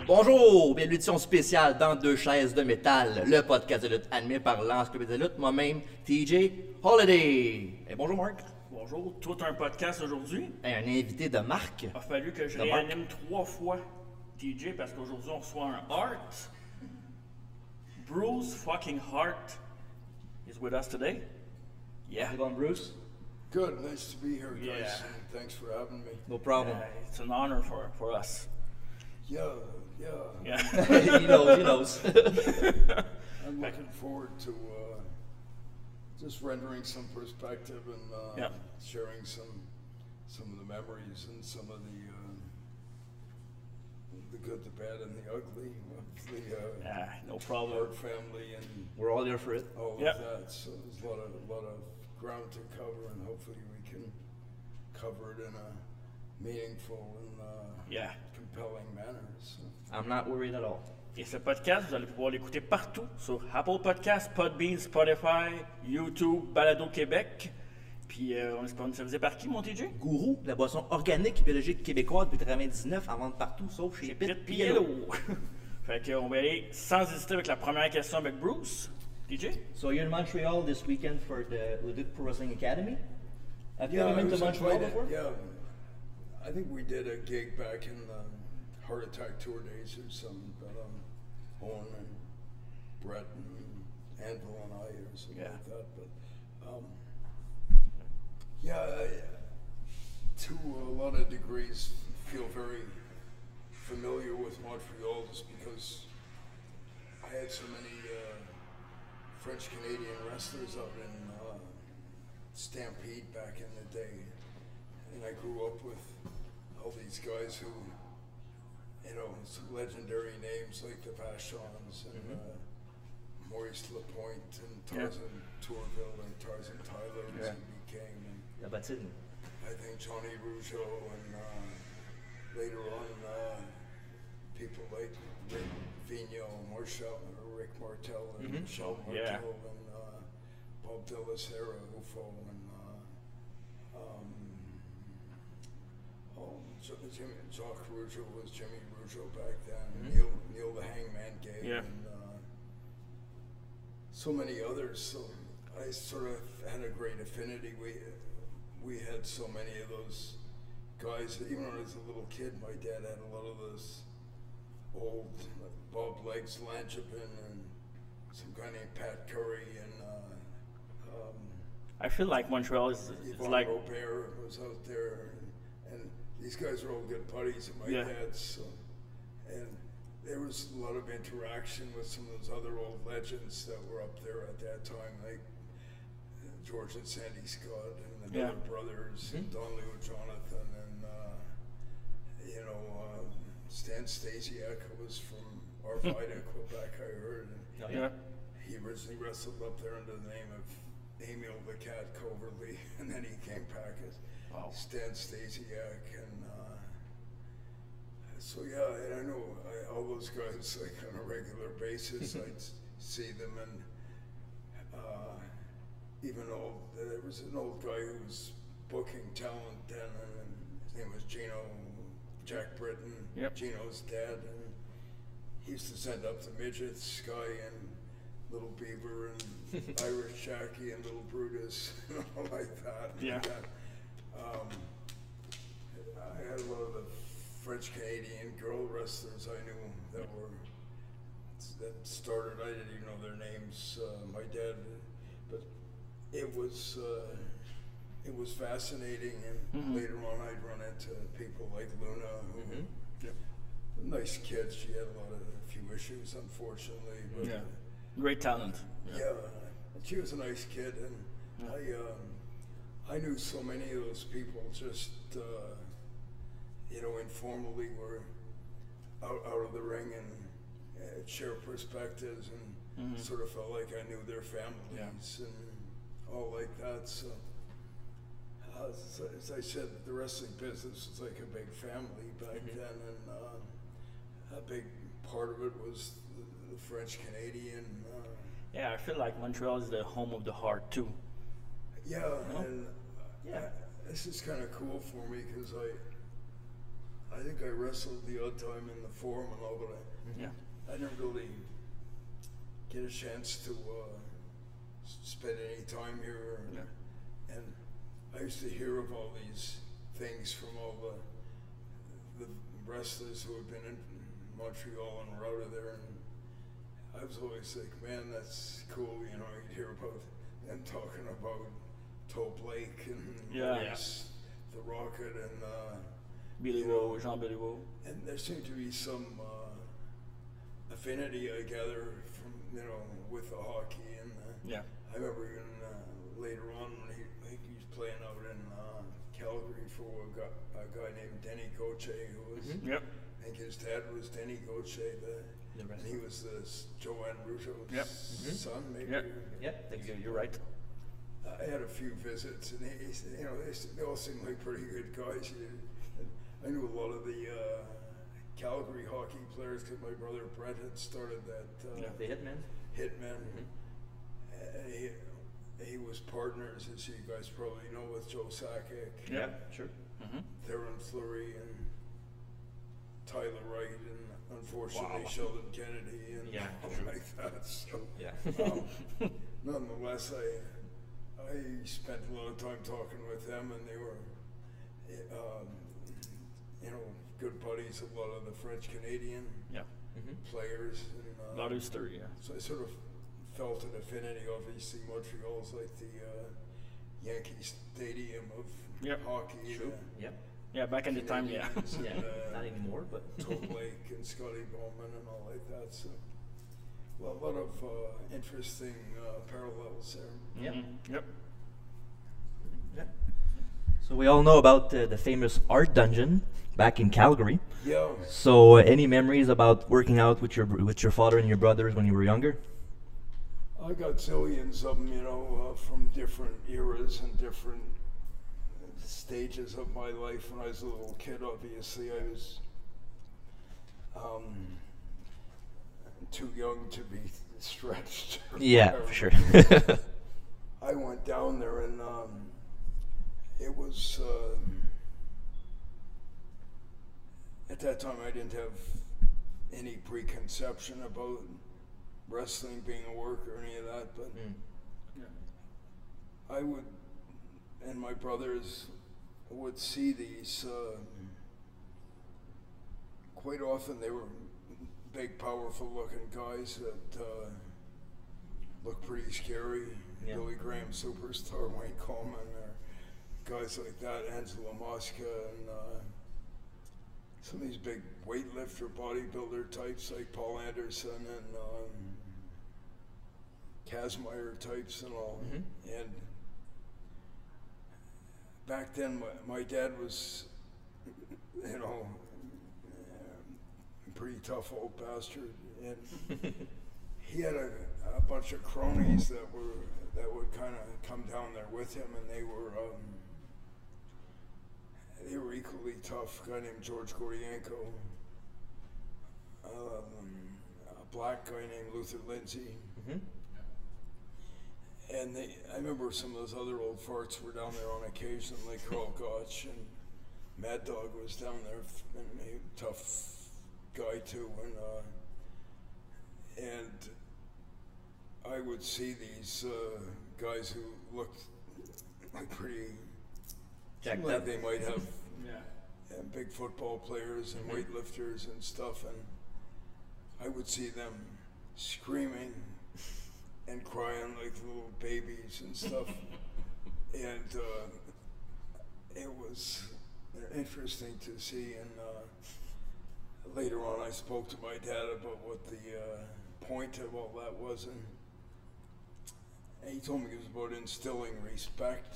Bonjour, bienvenue à l'édition spéciale dans Deux chaises de métal, le podcast de lutte animé par l'Encyclopédie de lutte, moi-même, TJ Holiday. Et bonjour Marc. Bonjour, tout un podcast aujourd'hui. Et un invité de marque. Il a fallu que je réanime 3 fois TJ parce qu'aujourd'hui on reçoit un Hart. Bruce fucking Hart is with us today. Yeah. How's it going, Bruce? Good, nice to be here, guys. Yeah. And thanks for having me. No problem. It's an honor for us. Yeah. Yeah. He knows. I'm looking forward to just rendering some perspective and sharing some of the memories and some of the good, the bad, and the ugly of the No problem. Hart family and We're all here for it. all of Yep. that. So there's a lot of ground to cover, and hopefully we can cover it in a meaningful and compelling manner. So. I'm not worried at all. Et ce podcast, vous allez pouvoir l'écouter partout sur Apple Podcasts, Podbean, Spotify, YouTube, Balado Québec. Puis on est sponsorisé par qui, mon TJ? Gourou, la boisson organique et biologique québécoise depuis 1999 en vente partout, sauf chez Pit Pit Yellow. Fait qu'on va aller sans hésiter avec la première question avec Bruce. TJ? So you're in Montreal this weekend for the Leduc Pro Wrestling Academy. Have you Yeah, ever I been to was Montreal invited. before? Yeah, I think we did a gig back in the Heart Attack Tour days or something, but Owen and Brett and Anvil and I or something like that. But to a lot of degrees, feel very familiar with Montreal just because I had so many French Canadian wrestlers out in Stampede back in the day, and I grew up with all these guys who, you know, some legendary names like the Vachons and Maurice Lapointe and Tarzan Tourville and Tarzan Tyler as he became, and La Batine. I think Johnny Rougeau and later on people like Rick Vigneault, Rick Martel and Michel Martel and Bob De La Sera, UFO, and Jacques Rougeau was Jimmy Rougeau back then, Neil the Hangman Gay, and so many others. So I sort of had a great affinity. We had so many of those guys. Even when I was a little kid, my dad had a lot of those old Bob Legs Langevin and some guy named Pat Curry and I feel like Montreal is Yvonne like Robert was out there, and these guys are all good buddies of my dad's. So, and there was a lot of interaction with some of those other old legends that were up there at that time, like George and Sandy Scott and the Miller brothers, and Don Leo Jonathan, and Stan Stasiak was from Arvida, Quebec, I heard. And he originally wrestled up there under the name of Emil the Cat Coverly, and then he came back as Stan Stasiak, and and I know all those guys like on a regular basis. I'd see them, and even there was an old guy who was booking talent then, and his name was Jack Britton, Gino's dad, and he used to send up the midgets, Sky and Little Beaver and Irish Jackie and Little Brutus and all like that. Yeah. And, I had a lot of the French Canadian girl wrestlers I knew that started. I didn't even know their names. My dad, but it was fascinating. And later on, I'd run into people like Luna, who nice kids. She had a few issues, unfortunately, but. Great talent. Yeah, she was a nice kid, and I knew so many of those people just, informally were out of the ring and share perspectives and sort of felt like I knew their families and all like that. So, as I said, the wrestling business was like a big family back then, and a big part of it was the French Canadian. I feel like Montreal is the home of the Hart too. Yeah, and this is kind of cool for me because I think I wrestled the odd time in the Forum and all, but I didn't really get a chance to spend any time here. And I used to hear of all these things from all the wrestlers who have been in Montreal and were out of there, and I was always like, man, that's cool, you know, you'd hear about them talking about Toe Blake and the Rocket and Billy Woe, Jean Billy Woe. And there seemed to be some affinity, I gather, from, you know, with the hockey. And I remember even later on when he was playing out in Calgary for a guy named Denny Gauthier, who was, I think his dad was Denny Gauthier, and he was Joanne Rougeau's son, maybe. You're right. I had a few visits, and you know, they all seemed like pretty good guys. I knew a lot of the Calgary hockey players because my brother Brett had started that. The Hitmen. Hitmen. He was partners, as you guys probably know, with Joe Sakic. Yeah, sure. Theron Fleury and Tyler Wright, and unfortunately Sheldon Kennedy, and like that. So, nonetheless, I spent a lot of time talking with them, and they were, you know, good buddies of a lot of the French Canadian players. And, Larouster, So I sort of felt an affinity. Obviously, Montreal's like the Yankee Stadium of hockey. True. Yeah, back in the time, not anymore, but Toe Blake and Scotty Bowman and all like that. So, well, a lot of interesting parallels there. So we all know about the famous Art Dungeon back in Calgary. Yeah. So any memories about working out with your father and your brothers when you were younger? I got zillions of them, you know, from different eras and different stages of my life. When I was a little kid, obviously, I was too young to be stretched. Yeah, for sure. I went down there, and it was at that time I didn't have any preconception about wrestling being a work or any of that, but I would, and my brothers would see these quite often. They were big, powerful looking guys that looked pretty scary. Billy Graham Superstar, Wayne Coleman, or guys like that, Angelo Mosca, and some of these big weightlifter, bodybuilder types like Paul Anderson and Kazmaier types and all. And back then, my dad was, you know, a pretty tough old bastard, and he had a bunch of cronies that would kind of come down there with him, and they were equally tough. A guy named George Gordienko, a black guy named Luther Lindsay. And I remember some of those other old farts were down there on occasion, like Carl Gotch, and Mad Dog was down there, and a tough guy too. And I would see these guys who looked like pretty, like they might have big football players and weightlifters and stuff, and I would see them screaming and crying like little babies and stuff. And it was interesting to see. And later on, I spoke to my dad about what the point of all that was, and he told me it was about instilling respect,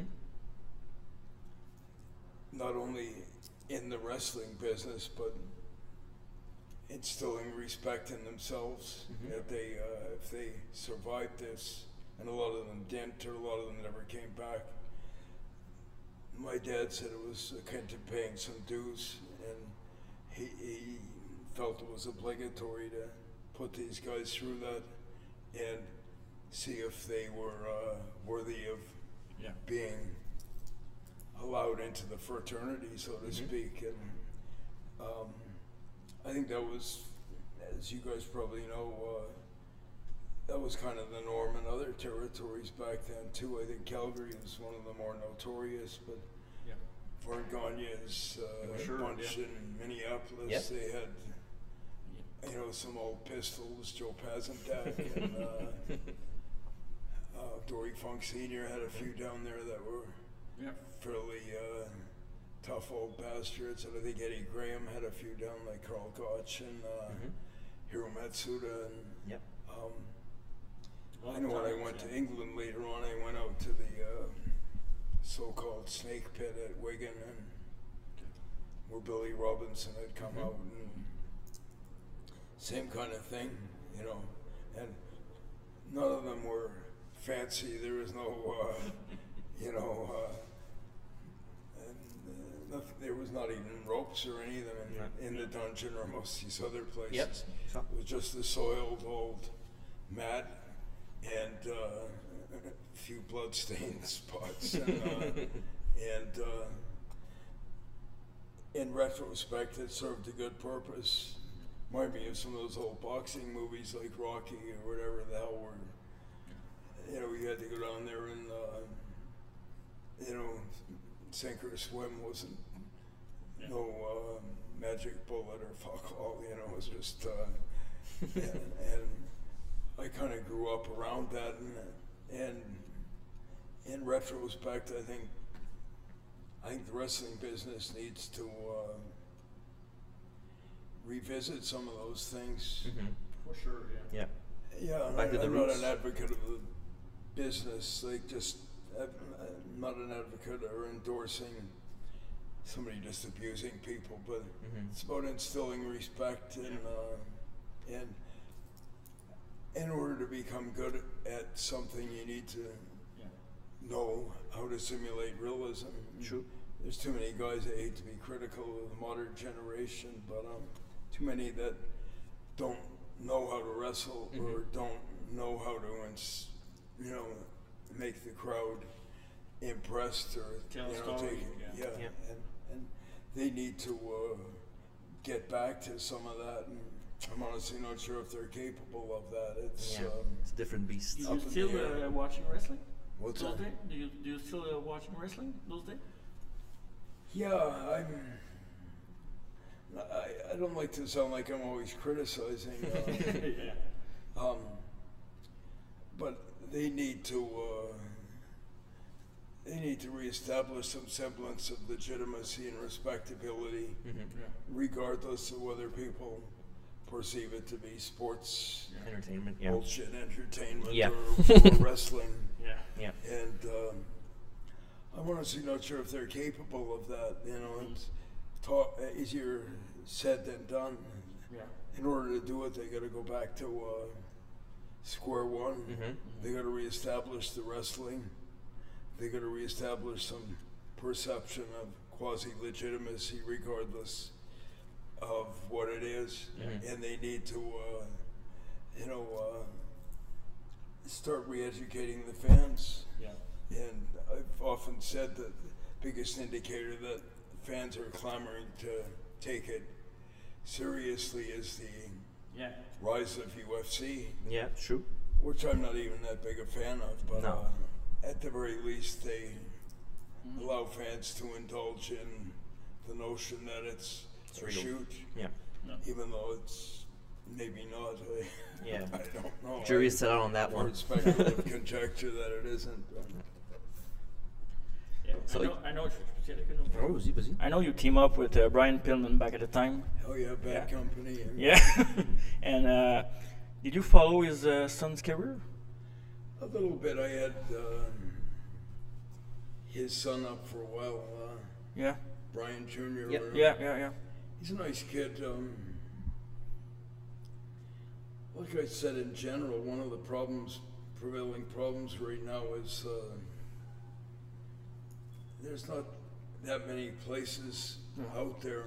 not only in the wrestling business, but instilling respect in themselves. If they survived this, and a lot of them didn't, or a lot of them never came back. My dad said it was akin to paying some dues, and he felt it was obligatory to put these guys through that and see if they were worthy of being allowed into the fraternity, so to speak. And I think that was, as you guys probably know, that was kind of the norm in other territories back then too. I think Calgary was one of the more notorious, but Yeah. Vern Gagne's Sure, bunch yeah. in Minneapolis, Yep. they had, some old pistols. Joe Pazendak and Dory Funk Sr. had a few down there that were Yeah. fairly tough old bastards, and I think Eddie Graham had a few down, like Carl Gotch and Hiro Matsuda. And Yep. I know when I went to England later on, I went out to the so-called Snake Pit at Wigan, and where Billy Robinson had come out, and same kind of thing, and none of them were fancy. There was no, there was not even ropes or any of them in the dungeon or most of these other places. Yep. It was just the soiled old mat and a few blood-stained spots. And in retrospect, it served a good purpose. Remind me of some of those old boxing movies like Rocky or whatever the hell were. You had to go down there and, sink or swim wasn't no magic bullet or fuck all, it was just, and I kind of grew up around that, and in retrospect, I think the wrestling business needs to revisit some of those things. For sure, yeah. Yeah. Yeah, Back to the I'm roots. not an advocate of the business, I'm not an advocate or endorsing somebody just abusing people, but it's about instilling respect and in order to become good at something, you need to know how to simulate realism. True. There's too many guys that hate to be critical of the modern generation, but too many that don't know how to wrestle or don't know how to, make the crowd impressed or Tell a story, take it. Yeah. And they need to get back to some of that. And I'm honestly not sure if they're capable of that. It's It's a different beast. Do Up you in still the air. watching wrestling? What's those that? days? Do you still watching wrestling those days? Yeah, I don't like to sound like I'm always criticizing, Yeah. but they need to reestablish some semblance of legitimacy and respectability, regardless of whether people perceive it to be sports Entertainment. Yeah. bullshit entertainment Yeah. or wrestling. Yeah. Yeah. And I'm honestly not sure if they're capable of that. It's easier said than done. Yeah. In order to do it, they got to go back to square one. They got to reestablish the wrestling. They got to reestablish some perception of quasi-legitimacy, regardless of what it is. And they need to, start re-educating the fans. Yeah. And I've often said that the biggest indicator that fans are clamoring to take it seriously is the Yeah. rise of UFC, Yeah. True. which I'm not even that big a fan of, but No. at the very least they allow fans to indulge in the notion that it's a real. shoot, Yeah. even though it's maybe not. Yeah. I don't know. Jury's set out on that Or one. it's speculative conjecture that it isn't. Yeah. So I know. Oh, was he? I know you team up with Brian Pillman back at the time. Hell yeah, bad Yeah. company. Yeah. And did you follow his son's career? A little bit. I had his son up for a while, Yeah. Brian Jr. Yep. or- Yeah. He's a nice kid. Like I said, in general, one of the prevailing problems right now is there's not that many places out there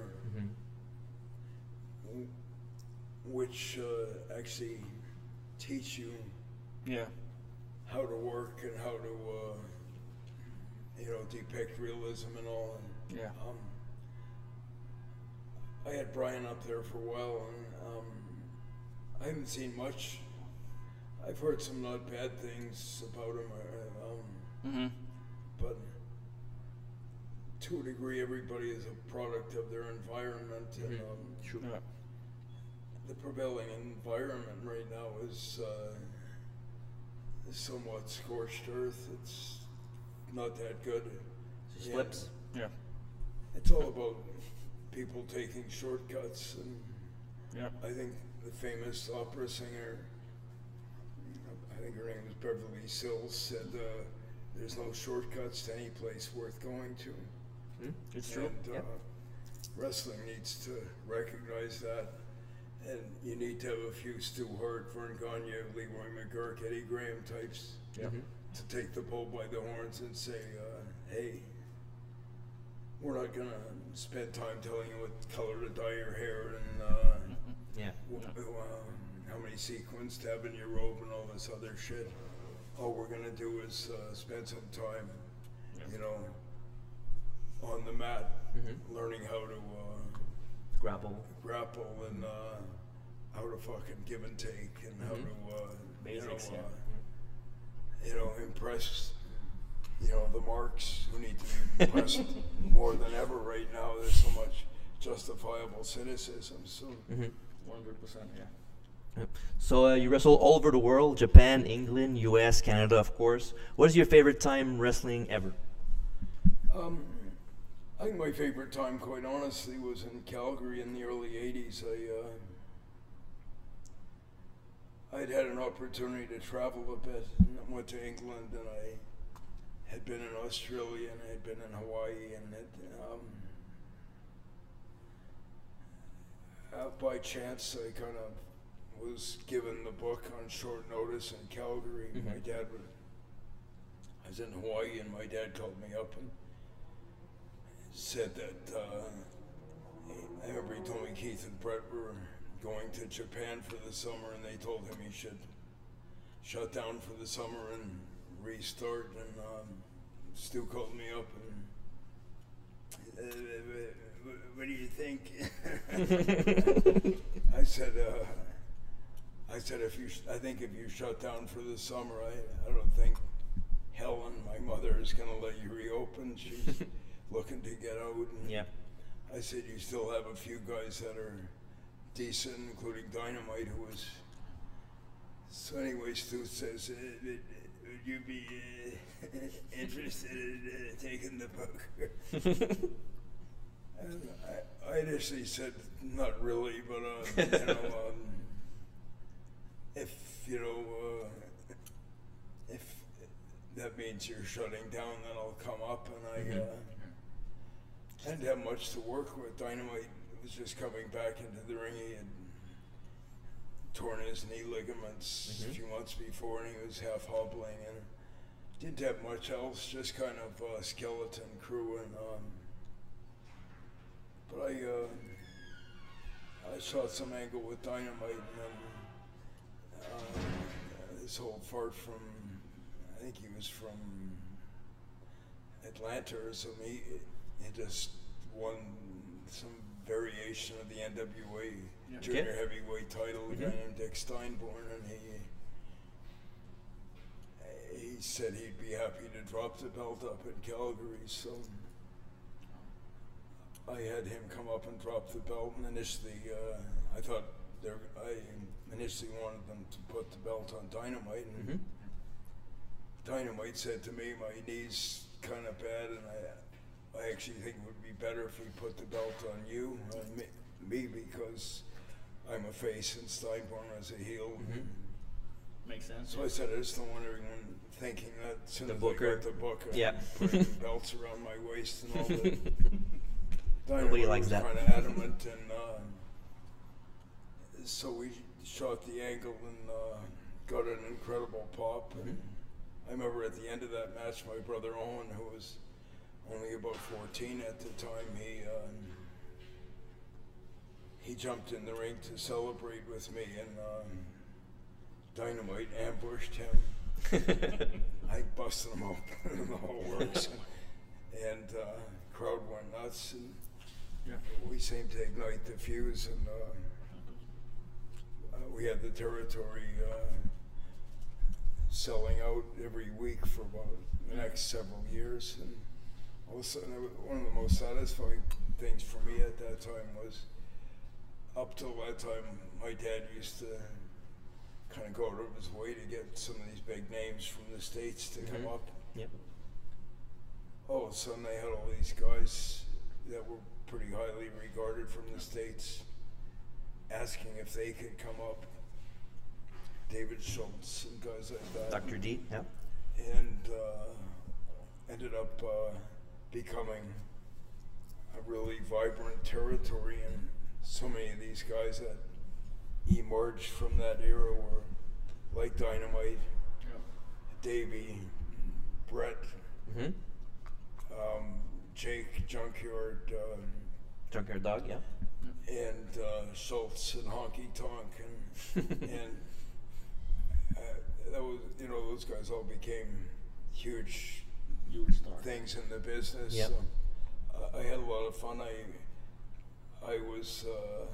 which actually teach you Yeah. how to work and how to, depict realism and all. And, Yeah. I had Brian up there for a while, and I haven't seen much. I've heard some not bad things about him, but to a degree, everybody is a product of their environment, and True. Yeah. the prevailing environment right now is somewhat scorched earth. It's not that good. Just Yeah. flips. Yeah. It's all about people taking shortcuts, and Yeah. I think the famous opera singer, I think her name was Beverly Sills, said there's no shortcuts to any place worth going to. It's true. And wrestling needs to recognize that, and you need to have a few Stu Hart, Vern Gagne, Leroy McGurk, Eddie Graham types Yeah. to take the bull by the horns and say, hey, we're not gonna spend time telling you what color to dye your hair and Yeah. how many sequins to have in your robe and all this other shit. All we're gonna do is spend some time, you know, on the mat, learning how to Grapple. grapple and how to fucking give and take and how to Basics, impress the marks who need to be impressed more than ever right now. There's so much justifiable cynicism. So 100%. Yeah. Yep. So you wrestle all over the world: Japan, England, U.S., Canada, of course. What is your favorite time wrestling ever? I think my favorite time, quite honestly, was in Calgary in the early 80s. I'd had an opportunity to travel a bit, and I went to England, and I had been in Australia, and I had been in Hawaii, and by chance I kind of was given the book on short notice in Calgary. My dad I was in Hawaii, and my dad called me up and said that I remember he told me Keith and Brett were going to Japan for the summer, and they told him he should shut down for the summer and restart. And Stu called me up and what do you think? I said I think if you shut down for the summer, I don't think Helen, my mother, is going to let you reopen. She's looking to get out. And Yeah. I said, you still have a few guys that are decent, including Dynamite, who was. So anyway, Stu says, would you be interested in taking the book? And I initially said, not really, but if that means you're shutting down, then I'll come up. And I didn't have much to work with. Dynamite was just coming back into the ring. He had torn his knee ligaments a few months before, and he was half hobbling, and didn't have much else, just kind of a skeleton crew. And but I shot some angle with Dynamite, and then this old fart from, I think he was from Atlanta or something. He just won some variation of the NWA junior heavyweight title, a guy named Dick Steinborn, and he said he'd be happy to drop the belt up in Calgary. So I had him come up and drop the belt, and initially I initially wanted them to put the belt on Dynamite, and Dynamite said to me, my knee's kind of bad, and I actually think it would be better if we put the belt on you, on me, because I'm a face and Steinborn is a heel. Makes sense. So I said, I just don't want everyone thinking that as soon as I booker. got the book, I'm Yeah. putting belts around my waist and all that. Nobody Dynamite likes was that. kind of adamant, and so we shot the angle and got an incredible pop. And I remember at the end of that match, my brother Owen, who was only about 14 at the time, he jumped in the ring to celebrate with me, and Dynamite ambushed him. I busted him open and the whole works, and crowd went nuts. And Yeah. we seemed to ignite the fuse, and we had the territory selling out every week for about the next several years. And all of a sudden, one of the most satisfying things for me at that time was, up till that time, my dad used to kind of go out of his way to get some of these big names from the States to come up. Yep. All of a sudden, they had all these guys that were pretty highly regarded from the States asking if they could come up. David Schultz and guys like that. Dr. D, yeah. And ended up becoming a really vibrant territory, and so many of these guys that emerged from that era were like Dynamite, Davey, Brett, Jake Junkyard, Junkyard Dog, yeah. and Schultz and Honky Tonk, and that was, you know, those guys all became huge star. things in the business. Yep. So, I had a lot of fun. I was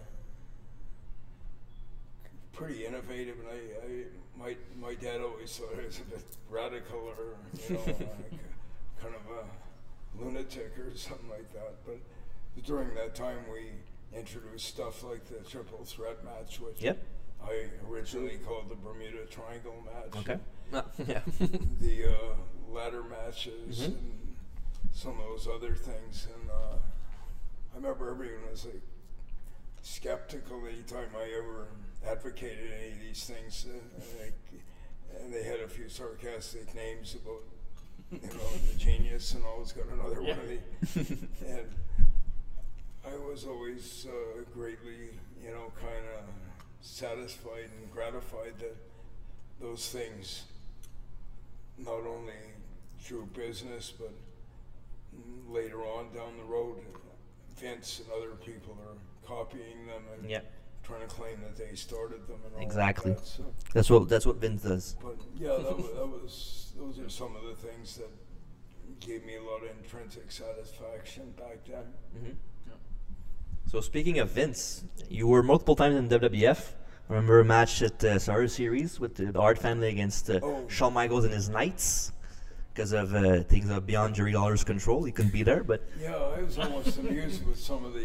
pretty innovative, and my dad always thought I was a bit radical, or you know, like kind of a lunatic or something like that. But during that time, we introduced stuff like the triple threat match, which I originally called the Bermuda Triangle match. Okay. Yeah. The ladder matches and some of those other things, and I remember everyone was like skeptical anytime I ever advocated any of these things, and they had a few sarcastic names about, you know, the genius and always got another one of these, and I was always greatly, you know, kind of satisfied and gratified that those things not only drew business, but later on down the road, Vince and other people are copying them and trying to claim that they started them and all exactly. Like that. So that's what Vince does. But yeah, those are some of the things that gave me a lot of intrinsic satisfaction back then. So speaking of Vince, you were multiple times in WWF. I remember a match at Survivor Series with the Hart family against Shawn Michaels and his Knights. Because of things beyond Jerry Lawler's control, he couldn't be there. But yeah, I was almost amused with some of the.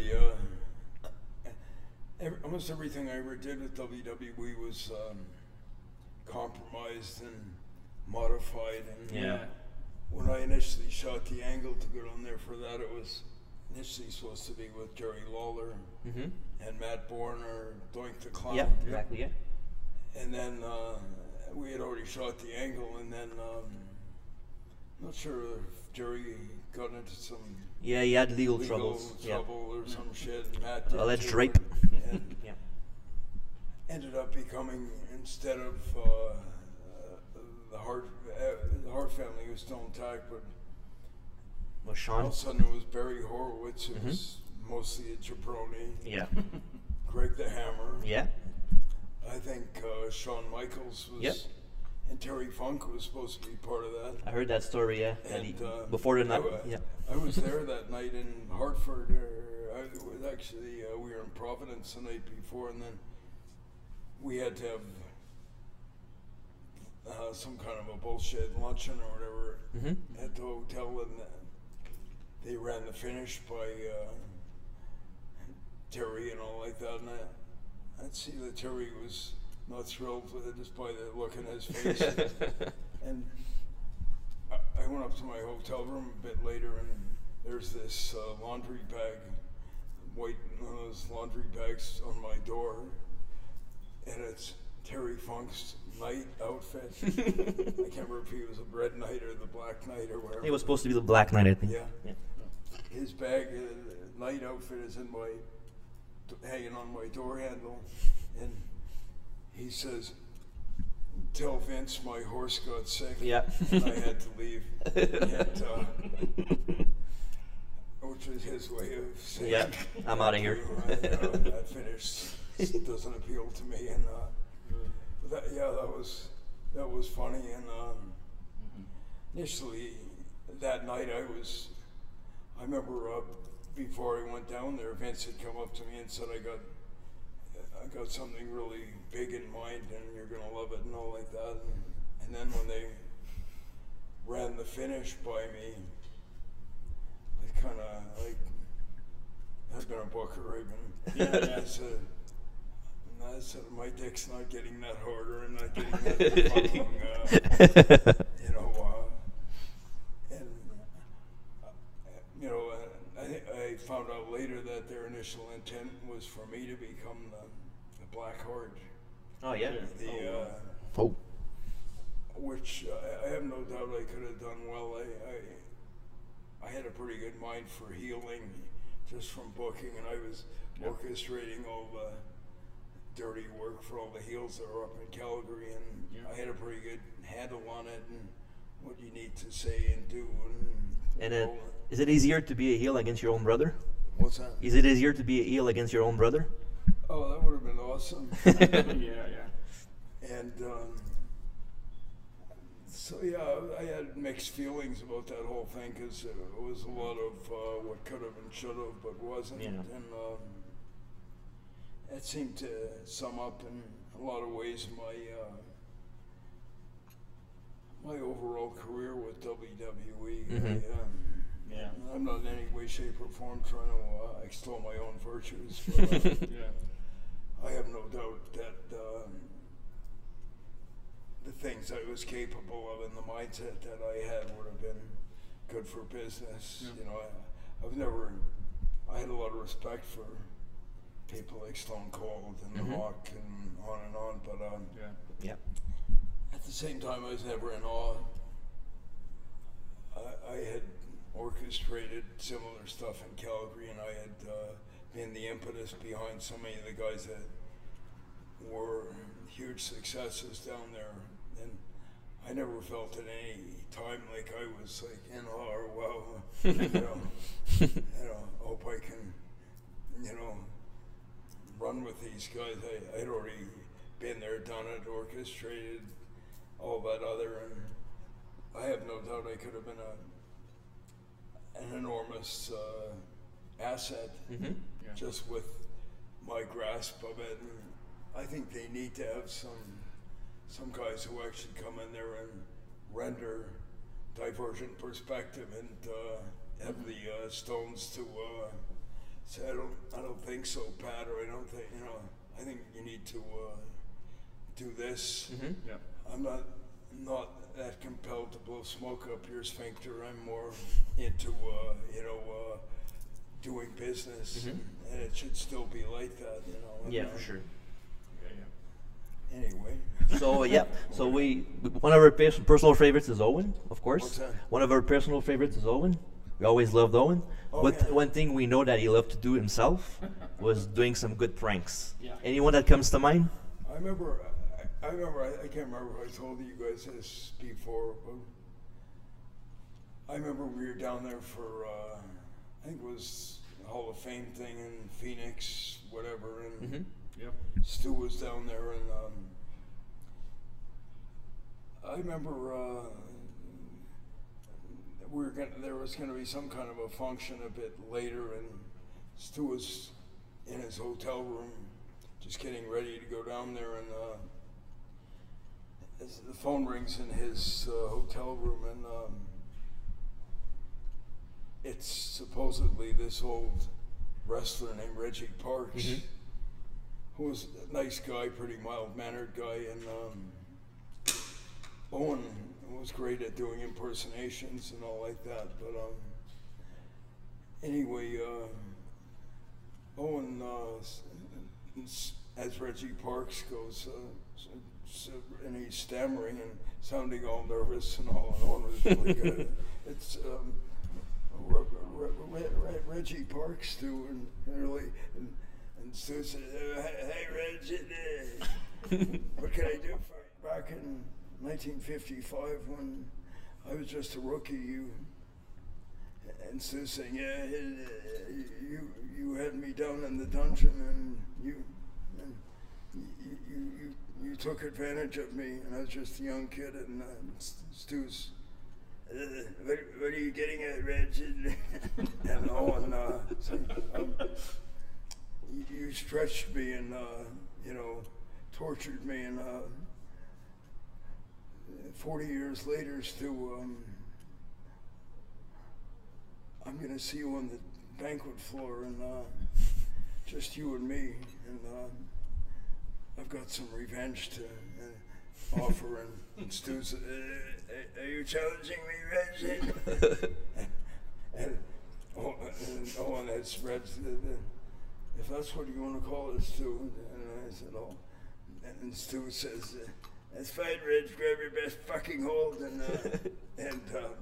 Almost everything I ever did with WWE was compromised and modified. And when I initially shot the angle to get on there for that, it was initially supposed to be with Jerry Lawler and Matt Bourne or Doink the Clown. Yeah, exactly. Yeah. And then we had already shot the angle, and then. Not sure if Jerry got into some he had legal trouble or some shit. And Matt did alleged too, rape. And ended up becoming, instead of the Hart family was still intact, but Was Shawn? all of a sudden it was Barry Horowitz, who was mostly a jabroni. Yeah. Greg the Hammer. Yeah. I think Shawn Michaels was. And Terry Funk was supposed to be part of that. I heard that story, yeah. And, before the night, I was there that night in Hartford. I was actually, we were in Providence the night before, and then we had to have some kind of a bullshit luncheon or whatever at the hotel, and they ran the finish by Terry and all like that, and I'd see that Terry was not thrilled with it just by the look in his face. And I went up to my hotel room a bit later, and there's this laundry bag, white, one of those laundry bags on my door, and it's Terry Funk's night outfit. I can't remember if he was a red knight or the black knight or whatever. It was supposed to be the Black Knight, I think. Yeah. His bag, night outfit is in my, hanging on my door handle, and he says, "Tell Vince my horse got sick." Yeah. And I had to leave. And, which was his way of saying, Yeah, I'm out of here. That finish doesn't appeal to me. And that was funny. And initially that night I remember before I went down there, Vince had come up to me and said, I got something really big in mind and you're going to love it and all like that. And then when they ran the finish by me, I kind of like, I've been a booker, I said, my dick's not getting that harder and not getting that fucking, I found out later that their initial intent was for me to become the Black Heart. Oh yeah. Which I have no doubt I could have done well. I had a pretty good mind for healing just from booking, and I was orchestrating all the dirty work for all the heels that are up in Calgary, and I had a pretty good handle on it and what you need to say and do. Is it easier to be a heel against your own brother? What's that? Is it easier to be a heel against your own brother? Oh, that would have been awesome. And so I had mixed feelings about that whole thing because it was a lot of what could have and should have, but wasn't. Yeah. And it seemed to sum up in a lot of ways my overall career with WWE. Mm-hmm. I'm not in any way, shape, or form trying to extol my own virtues. But, I have no doubt that the things I was capable of and the mindset that I had would have been good for business. I had a lot of respect for people like Stone Cold and The Rock and on, but at the same time I was never in awe. I had orchestrated similar stuff in Calgary, and I had been the impetus behind so many of the guys that were huge successes down there, and I never felt at any time like I was like in awe or wow, hope I can, run with these guys. I'd already been there, done it, orchestrated all that other, and I have no doubt I could have been an enormous asset just with my grasp of it. And I think they need to have some guys who actually come in there and render divergent perspective and have the stones to say, I don't think so, Pat, or I don't think, I think you need to do this. I'm not that compelled to blow smoke up your sphincter. I'm more into doing business, and it should still be like that, Yeah, for sure. Anyway. So one of our personal favorites is Owen, of course. What's that? One of our personal favorites is Owen. We always loved Owen. One thing we know that he loved to do himself was doing some good pranks. Yeah. Anyone that comes to mind? I remember, I can't remember if I told you guys this before, but I remember we were down there for, I think it was a Hall of Fame thing in Phoenix, whatever, and Stu was down there, and I remember there was going to be some kind of a function a bit later, and Stu was in his hotel room just getting ready to go down there, and as the phone rings in his hotel room, and it's supposedly this old wrestler named Reggie Parks, who was a nice guy, pretty mild-mannered guy, and Owen was great at doing impersonations and all like that, but anyway, Owen, as Reggie Parks goes, and he's stammering and sounding all nervous and all, and Owen was really good. It's Reggie Parks, Stu, and really, and Stu said, "Hey Reggie, what can I do for you?" Back in 1955, when I was just a rookie, and Stu saying, "Yeah, you had me down in the dungeon, and you took advantage of me, and I was just a young kid." And Stu's what are you getting at, Reg? And Owen said, you stretched me and, tortured me, and 40 years later still, I'm going to see you on the banquet floor, and just you and me, and I've got some revenge to offer. And Stu said, are you challenging me, Reg? and Owen had spread, if that's what you want to call it, Stu. And I said, oh. And Stu says, that's fine, Reg, grab your best fucking hold. And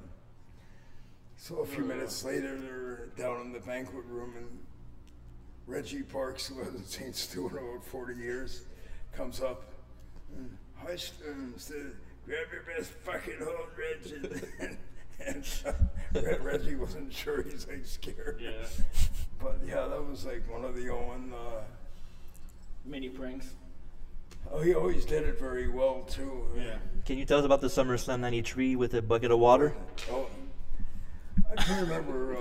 so a few minutes later, they're down in the banquet room, and Reggie Parks, who hasn't seen Stu in about 40 years, comes up and, hi, Stu, grab your best fucking hold, Reg. And Reggie wasn't sure, he's like scared. Yeah. But yeah, that was like one of the Owen mini pranks. Oh, he always did it very well too. Yeah. Can you tell us about the SummerSlam '93 with a bucket of water? Oh, I can remember.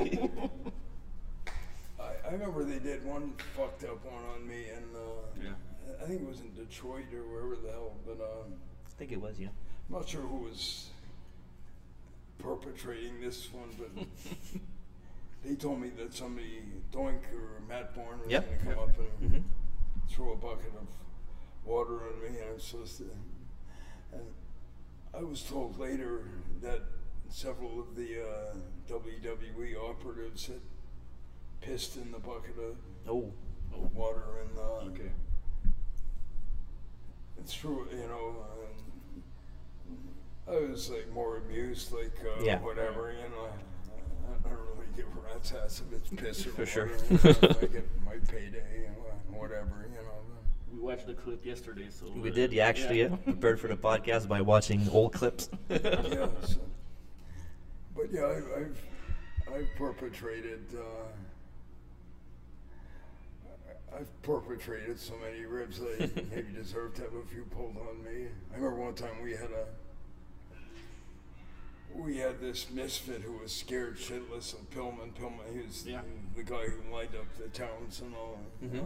I remember they did one fucked up one on me, and I think it was in Detroit or wherever the hell. But I think it was, yeah. I'm not sure who was perpetrating this one, but they told me that somebody, Doink or Matt Bourne, was going to come up and throw a bucket of water on me, and I'm supposed to. And I was told later that several of the WWE operatives had pissed in the bucket of water, and Okay. it's true, I was like more amused, like whatever, I don't really give a rat's ass if it's piss or For water. sure. I get my payday, whatever, We watched the clip yesterday, so We did, yeah, actually, yeah. Prepared for the podcast by watching old clips. Yeah, so, but yeah, I've perpetrated. I've perpetrated so many ribs that I maybe deserve to have a few pulled on me. I remember one time we had this misfit who was scared shitless of Pillman. Pillman, he was the guy who lined up the towns and all.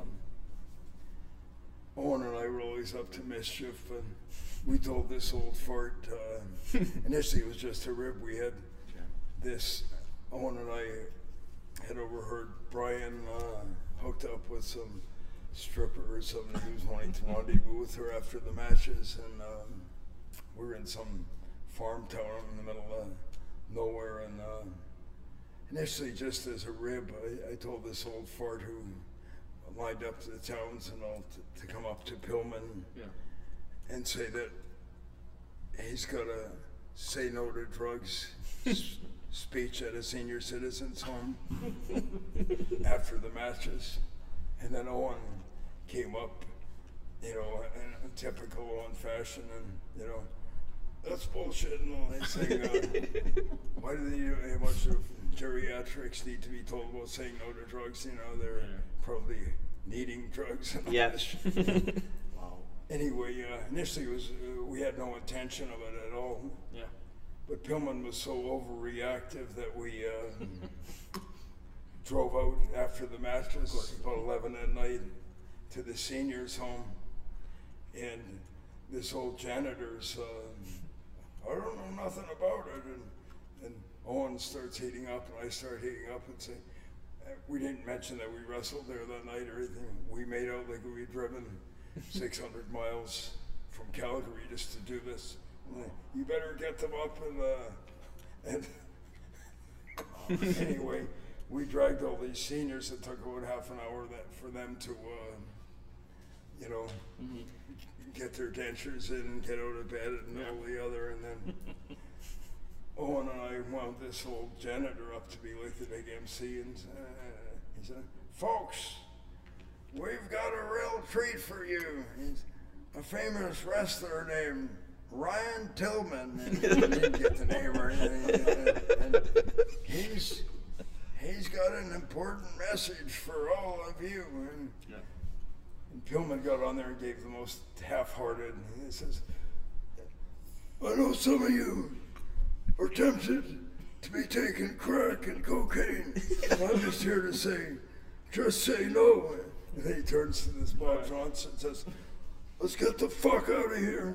Owen and I were always up to mischief, and we told this old fart. Initially, it was just a rib. We had this. Owen and I had overheard Brian hooked up with some stripper or something who was wanting to rendezvous with her after the matches, and we were in some farm town in the middle of nowhere, and initially just as a rib, I told this old fart who lined up the towns and all to come up to Pillman and say that he's got a say no to drugs speech at a senior citizens home after the matches. And then Owen came up, in a typical Owen fashion, and, that's bullshit and all. They saying, why do they, a bunch of geriatrics need to be told about saying no to drugs? They're probably needing drugs. And Yeah. Wow. Anyway, initially we had no intention of it at all. Yeah. But Pillman was so overreactive that we drove out after the matches about 11 at night to the seniors' home, and this old janitor's, I don't know nothing about it, and Owen starts heating up, and I start heating up and say, we didn't mention that we wrestled there that night or anything. We made out like we'd driven 600 miles from Calgary just to do this. You better get them up, and anyway, we dragged all these seniors. It took about half an hour for them to, get their dentures in and get out of bed and all the other, and then Owen and I wound this old janitor up to be like the big MC, and he said, "Folks, we've got a real treat for you. He's a famous wrestler named Ryan Tillman." And he didn't get the name or anything. And he's got an important message for all of you. And Pillman got on there and gave the most half-hearted. And he says, "I know some of you are tempted to be taking crack and cocaine. I'm just here to say, just say no. And then he turns to this Bob Johnson and says, let's get the fuck out of here.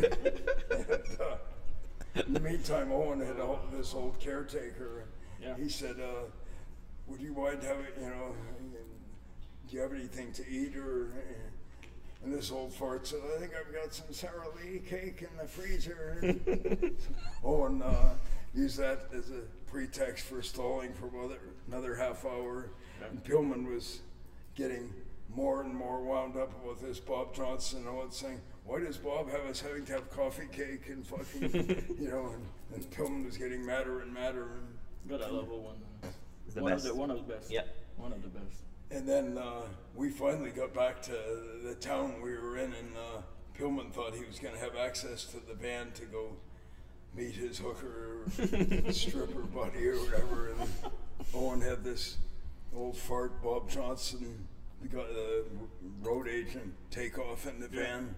And, in the meantime, Owen had this old caretaker. Yeah. He said, would you mind having, do you have anything to eat? And this old fart said, I think I've got some Sara Lee cake in the freezer. Owen used that as a pretext for stalling for another half hour. Yeah. And Pillman was getting more and more wound up with this Bob Johnson. Owen saying, why does Bob have us having to have coffee cake and fucking, and Pillman was getting madder and madder. But I love Owen. It's the One best. of the best. Yeah. One of the best. And then we finally got back to the town we were in, and Pillman thought he was going to have access to the van to go meet his hooker or stripper buddy or whatever. And Owen had this old fart Bob Johnson, the road agent, take off in the van.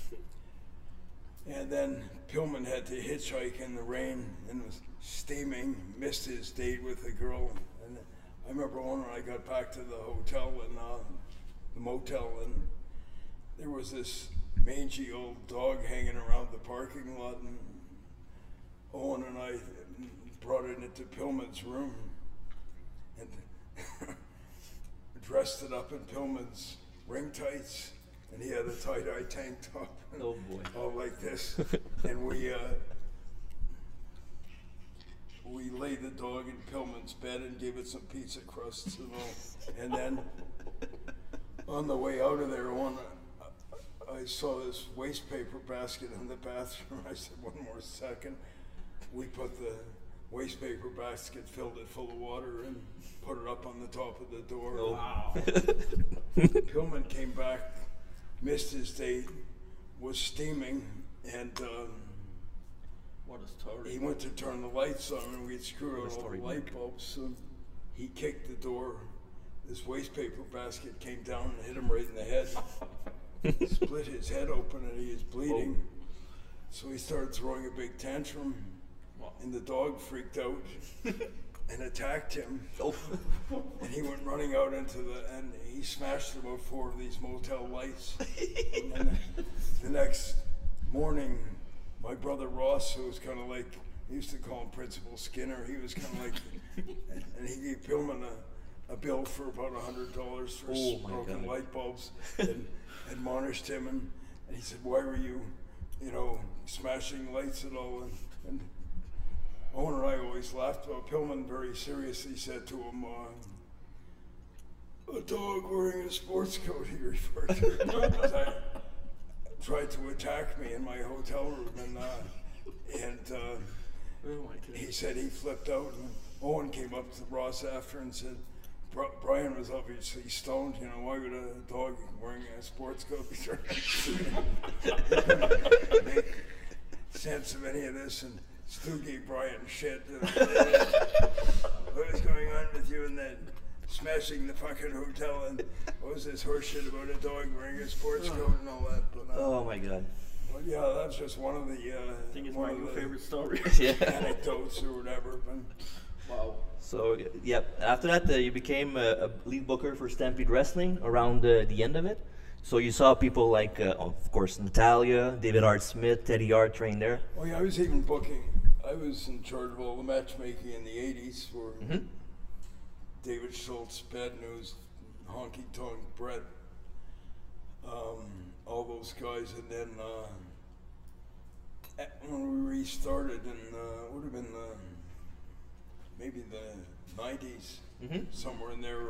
And then Pillman had to hitchhike in the rain and was steaming, missed his date with the girl. And I remember when I got back to the hotel and the motel, and there was this mangy old dog hanging around the parking lot, and Owen and I brought it into Pillman's room and dressed it up in Pillman's ring tights, and he had a tie-dye tank top. Oh boy. All like this. And we laid the dog in Pillman's bed and gave it some pizza crusts and all. And then on the way out of there, I saw this waste paper basket in the bathroom. I said, one more second. We put the waste paper basket, filled it full of water, and put it up on the top of the door. Oh. Wow. Pillman came back, missed his date, was steaming, and What a story. he went to turn the lights on, and we'd screwed What a out all story, the light bulbs. So he kicked the door. This waste paper basket came down and hit him right in the head. Split his head open, and he was bleeding. So he started throwing a big tantrum, and the dog freaked out and attacked him. Oh. And he went running out and he smashed about 4 of these motel lights. And then the next morning, my brother Ross, who was kind of like, he used to call him Principal Skinner, he was kind of like, and he gave Pillman a bill for about $100 for Oh my broken God. light bulbs, and admonished him, and he said, why were you, smashing lights and all? And Owen and I always laughed about Pillman. Very seriously said to him, a dog wearing a sports coat, he referred to it. Tried to attack me in my hotel room, and Oh my goodness. he said he flipped out, and Owen came up to Ross after and said, Brian was obviously stoned, why would a dog wearing a sports coat be trying to make sense of any of this? And Stu gave Brian shit. What was going on with you and that smashing the fucking hotel, and what was this horse shit about a dog wearing a sports coat and all that? But, Oh my God. well, yeah, that's just one of the I think it's one my of new the favorite story. Yeah. anecdotes or whatever. But Wow. So, yep. After that, you became a lead booker for Stampede Wrestling around the end of it. So you saw people like, of course, Natalia, David Hart Smith, Teddy Hart trained there. oh yeah, I was even booking. I was in charge of all the matchmaking in the '80s for David Schultz, Bad News, Honky Tonk, Brett, all those guys, and then when we restarted in would have been maybe the '90s, somewhere in there.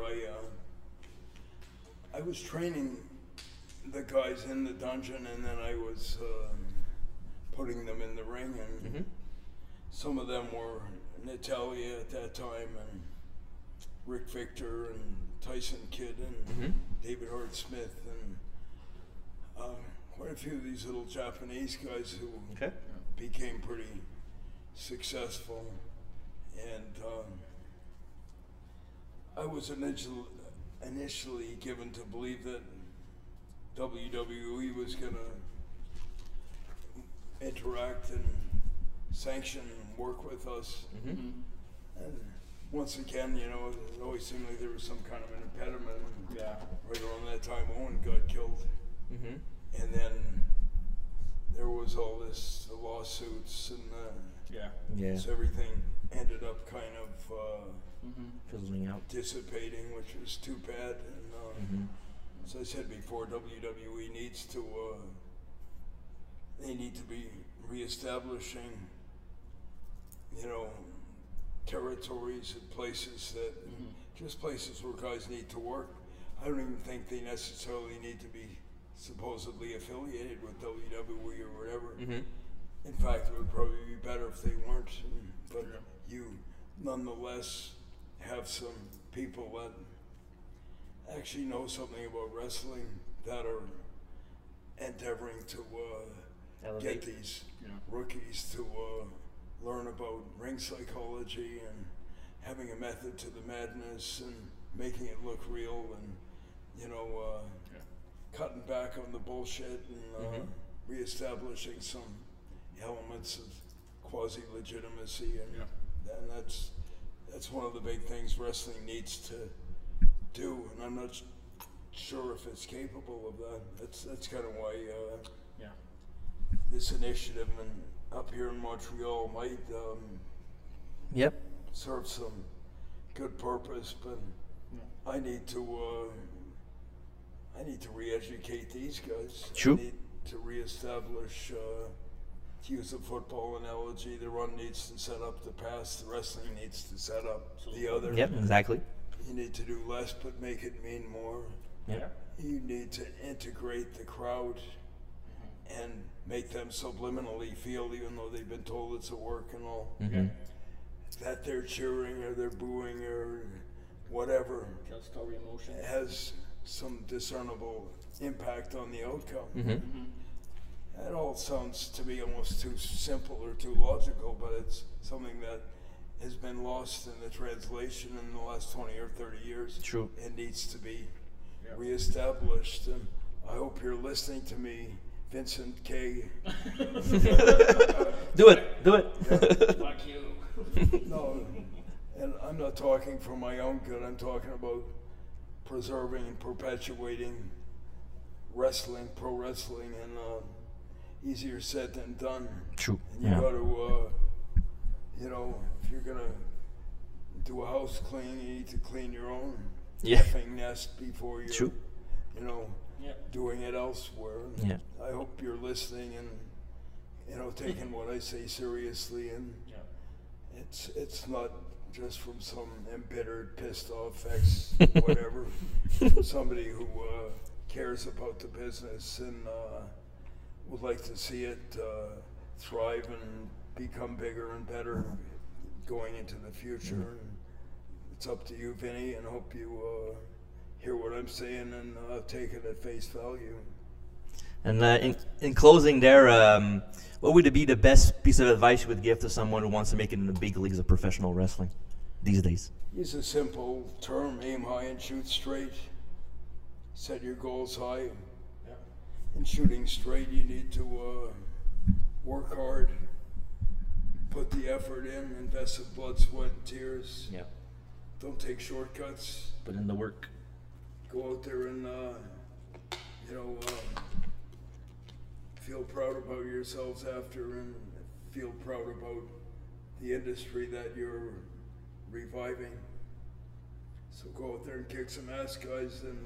I was training the guys in the dungeon, and then I was putting them in the ring, and some of them were Natalia at that time, and Rick Victor, and Tyson Kidd, and David Hart Smith, and quite a few of these little Japanese guys who Okay. became pretty successful. And I was initially given to believe that WWE was going to interact and sanction and work with us. Mm-hmm. And once again, it always seemed like there was some kind of an impediment. Yeah. Right around that time, Owen got killed. Mm-hmm. And then there was all this, the lawsuits, and Yeah. so everything ended up kind of Fizzling out. dissipating, which was too bad. And Mm-hmm. as I said before, WWE needs to, they need to be reestablishing, territories and places that, just places where guys need to work. I don't even think they necessarily need to be supposedly affiliated with WWE or whatever. Mm-hmm. In fact, it would probably be better if they weren't. But you nonetheless have some people that actually know something about wrestling that are endeavoring to Elevate. get these rookies to learn about ring psychology and having a method to the madness and making it look real and, cutting back on the bullshit and reestablishing some elements of quasi-legitimacy. And that's one of the big things wrestling needs to do, and I'm not sure if it's capable of that. That's kind of why this initiative up here in Montreal might Yep. serve some good purpose, but I need to re-educate these guys. True. I need to reestablish, to use a football analogy, the run needs to set up the pass, the wrestling needs to set up the other. Yep. Exactly. You need to do less but make it mean more. Yep. You need to integrate the crowd and make them subliminally feel, even though they've been told it's a work and all, Mm-hmm. that they're cheering or they're booing or whatever Tell story emotion. has some discernible impact on the outcome. Mm-hmm. That all sounds to me almost too simple or too logical, but it's something that has been lost in the translation in the last 20 or 30 years. True. It needs to be reestablished, and I hope you're listening to me, Vincent K. Do it. Fuck you. No, and I'm not talking for my own good. I'm talking about preserving and perpetuating wrestling, pro wrestling, and easier said than done. True. And you got to, if you're gonna do a house clean, you need to clean your own effing nest before you're, True. doing it elsewhere. Yeah. I hope you're listening and taking what I say seriously, and it's not just from some embittered, pissed off ex whatever, somebody who cares about the business and would like to see it thrive and become bigger and better going into the future. And it's up to you, Vinny, and I hope you hear what I'm saying and take it at face value. And in closing there, what would be the best piece of advice you would give to someone who wants to make it in the big leagues of professional wrestling these days? Use a simple term: aim high and shoot straight. Set your goals high. In shooting straight, you need to work hard, put the effort in, invest in blood, sweat, and tears. Yeah. Don't take shortcuts. Put in the work. Go out there and feel proud about yourselves after, and feel proud about the industry that you're reviving. So go out there and kick some ass, guys, and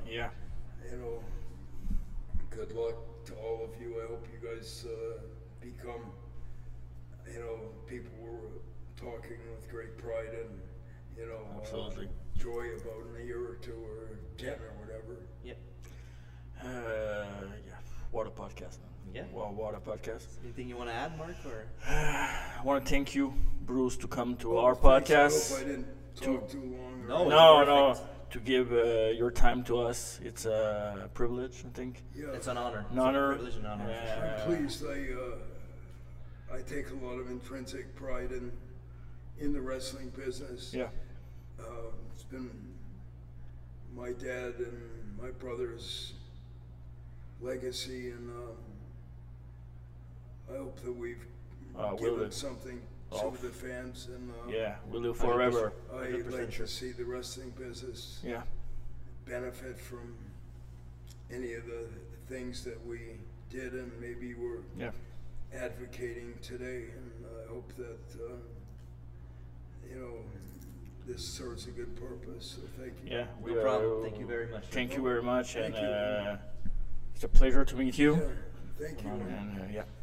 good luck to all of you. I hope you guys become people we're talking with great pride and Absolutely. joy about in a year or two or 10 or whatever. Yep. What a podcast, man. Yeah. Wow, what a podcast. Anything you want to add, Mark? Or I want to thank you, Bruce, to come to Well, our thanks. podcast. I hope I didn't talk too long. No, No, to give your time to us. It's a privilege, I think. Yeah, it's an honor. An honor. It's a privilege and honor. for sure. I'm pleased. I take a lot of intrinsic pride in the wrestling business. Yeah. It's been my dad and my brother's legacy, and I hope that we've give them something to the fans. And yeah, we'll do forever. I'd like to see the wrestling business benefit from any of the things that we did and maybe we're advocating today. And I hope that, this serves a good purpose. So thank you. Yeah, No problem. Thank you very much. Thank you very much. Thank and you. It's a pleasure to meet you. Yeah, thank you. And yeah.